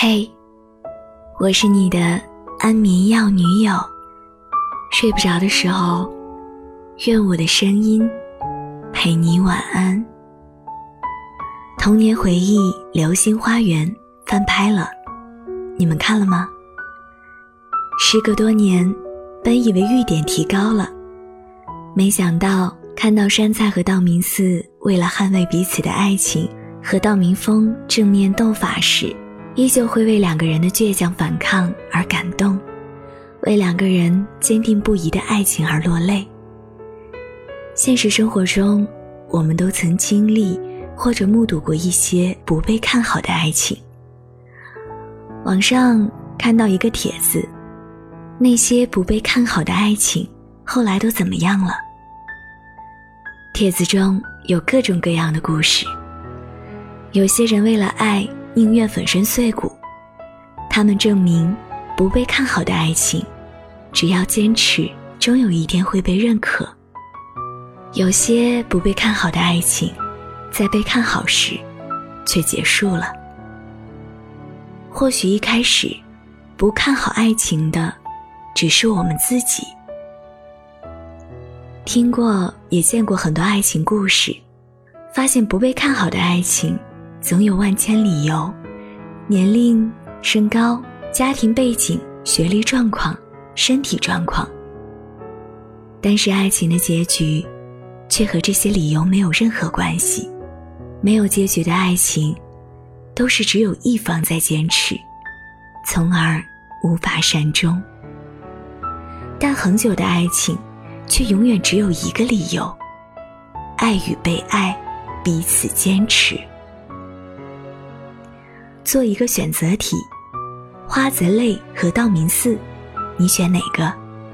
嘿，我是你的安眠药女友，睡不着的时候，愿我的声音陪你晚安。童年回忆《流星花园》翻拍了，你们看了吗？时隔多年，本以为玉点提高了，没想到看到杉菜和道明寺为了捍卫彼此的爱情和道明峰正面斗法时，依旧会为两个人的倔强反抗而感动，为两个人坚定不移的爱情而落泪。现实生活中，我们都曾经历或者目睹过一些不被看好的爱情。网上看到一个帖子，那些不被看好的爱情后来都怎么样了？帖子中有各种各样的故事，有些人为了爱宁愿粉身碎骨，他们证明不被看好的爱情只要坚持，终有一天会被认可。有些不被看好的爱情在被看好时却结束了。或许一开始不看好爱情的只是我们自己。听过也见过很多爱情故事，发现不被看好的爱情总有万千理由，年龄、身高、家庭背景、学历状况、身体状况。但是爱情的结局却和这些理由没有任何关系。没有结局的爱情都是只有一方在坚持，从而无法善终。但恒久的爱情却永远只有一个理由：爱与被爱，彼此坚持。做一个选择题，花泽类和道明寺，你选哪个？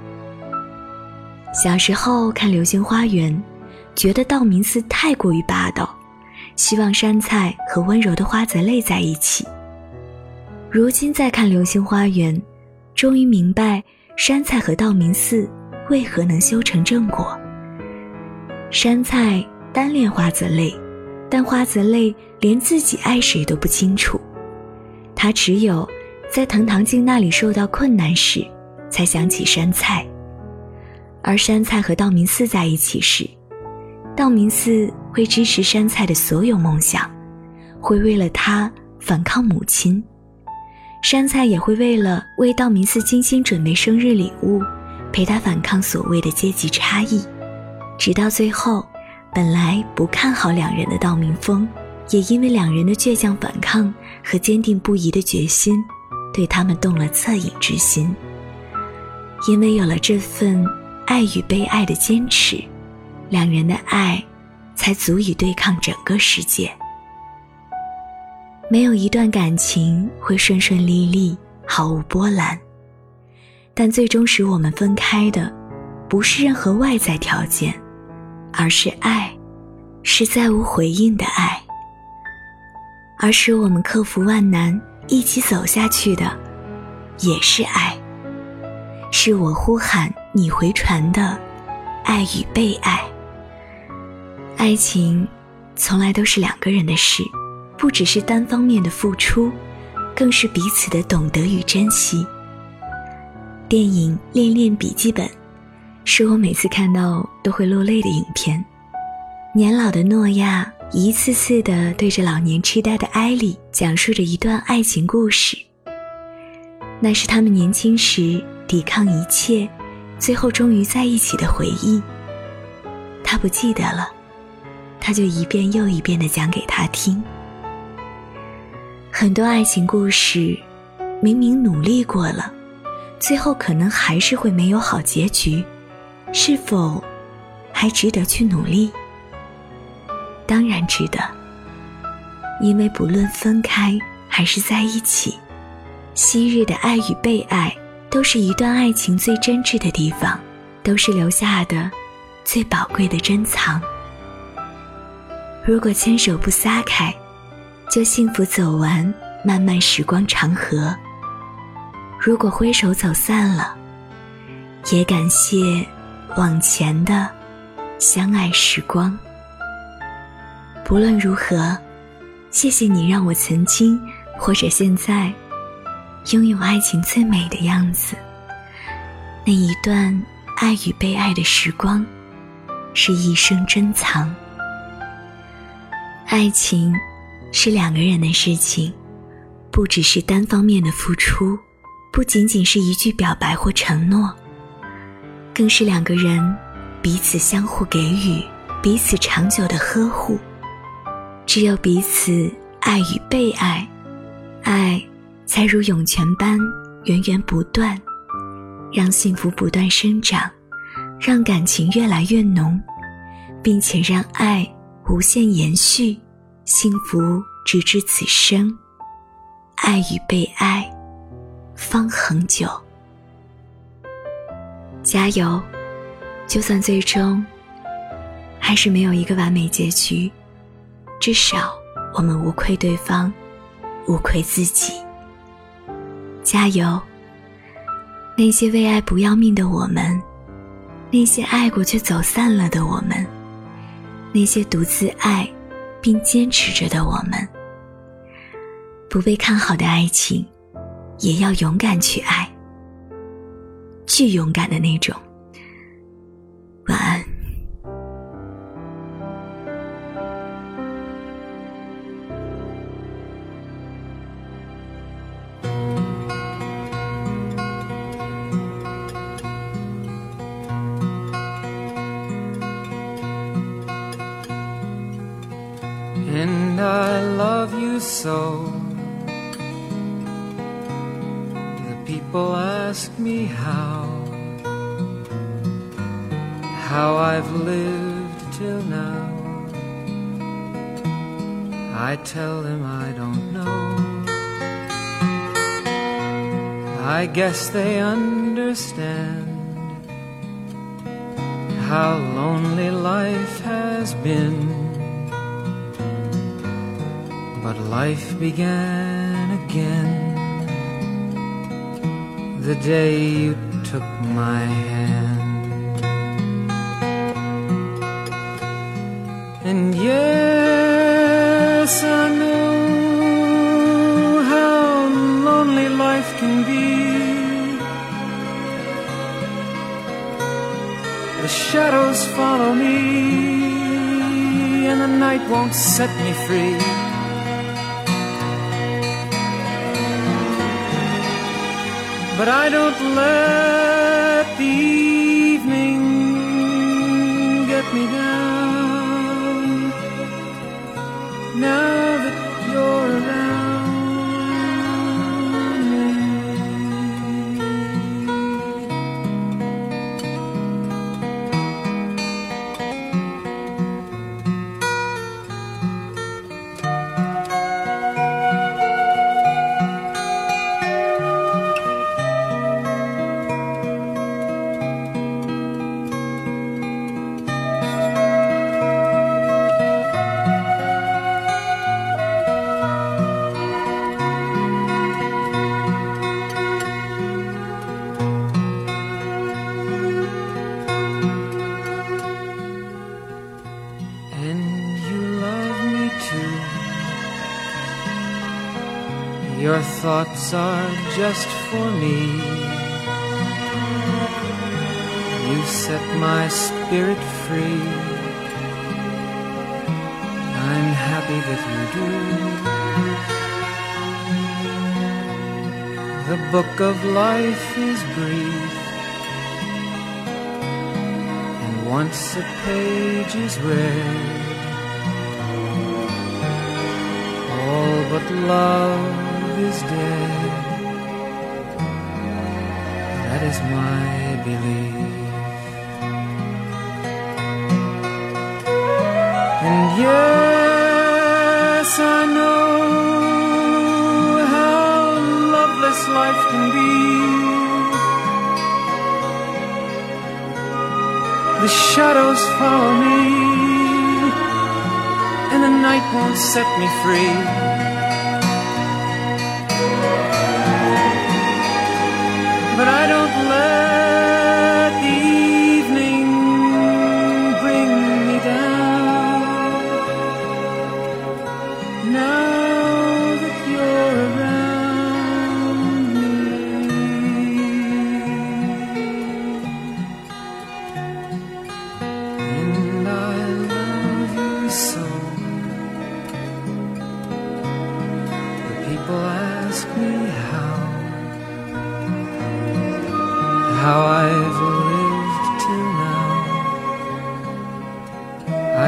小时候看《流星花园》，觉得道明寺太过于霸道，希望杉菜和温柔的花泽类在一起。如今再看《流星花园》，终于明白杉菜和道明寺为何能修成正果。杉菜单恋花泽类，但花泽类连自己爱谁都不清楚。他只有在藤堂静那里受到困难时才想起杉菜，而杉菜和道明寺在一起时，道明寺会支持杉菜的所有梦想，会为了他反抗母亲。杉菜也会为道明寺精心准备生日礼物，陪他反抗所谓的阶级差异。直到最后，本来不看好两人的道明峰，也因为两人的倔强反抗和坚定不移的决心，对他们动了恻隐之心。因为有了这份爱与被爱的坚持，两人的爱才足以对抗整个世界。没有一段感情会顺顺利利，毫无波澜，但最终使我们分开的不是任何外在条件，而是爱，是再无回应的爱。而使我们克服万难一起走下去的也是爱，是我呼喊你回传的爱与被爱。爱情从来都是两个人的事，不只是单方面的付出，更是彼此的懂得与珍惜。电影《恋恋笔记本》是我每次看到都会落泪的影片。年老的诺亚一次次地对着老年痴呆的艾莉讲述着一段爱情故事，那是他们年轻时抵抗一切，最后终于在一起的回忆。他不记得了，他就一遍又一遍地讲给他听。很多爱情故事明明努力过了，最后可能还是会没有好结局，是否还值得去努力？当然值得，因为不论分开还是在一起，昔日的爱与被爱都是一段爱情最真挚的地方，都是留下的最宝贵的珍藏。如果牵手不撒开，就幸福走完漫漫时光长河；如果挥手走散了，也感谢往前的相爱时光。不论如何，谢谢你让我曾经或者现在拥有爱情最美的样子。那一段爱与被爱的时光，是一生珍藏。爱情是两个人的事情，不只是单方面的付出，不仅仅是一句表白或承诺，更是两个人彼此相互给予，彼此长久的呵护。只有彼此爱与被爱，爱才如涌泉般源源不断，让幸福不断生长，让感情越来越浓，并且让爱无限延续，幸福直至此生。爱与被爱方恒久。加油，就算最终还是没有一个完美结局，至少我们无愧对方，无愧自己。加油，那些为爱不要命的我们，那些爱过却走散了的我们，那些独自爱并坚持着的我们。不被看好的爱情，也要勇敢去爱，巨勇敢的那种。晚安。 And I love you so. The people ask me how I've lived till now. I tell them I don't know. I guess they understand how lonely life has been. But life began again the day you took my hand. And yes, I know how lonely life can be. The shadows follow me, and the night won't set me free. But I don't let the evening get me down. Now that you're around me. Your thoughts are just for me. You set my spirit free. I'm happy that you do. The book of life is brief, and once a page is read, all but love is dead. That is my belief. And yes, I know how loveless life can be. The shadows follow me, and the night won't set me free. But I don't let the evening bring me down. Now that you're around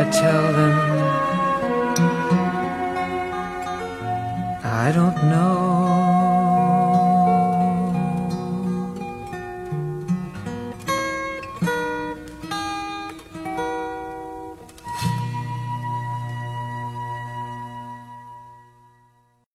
I tell them I don't know.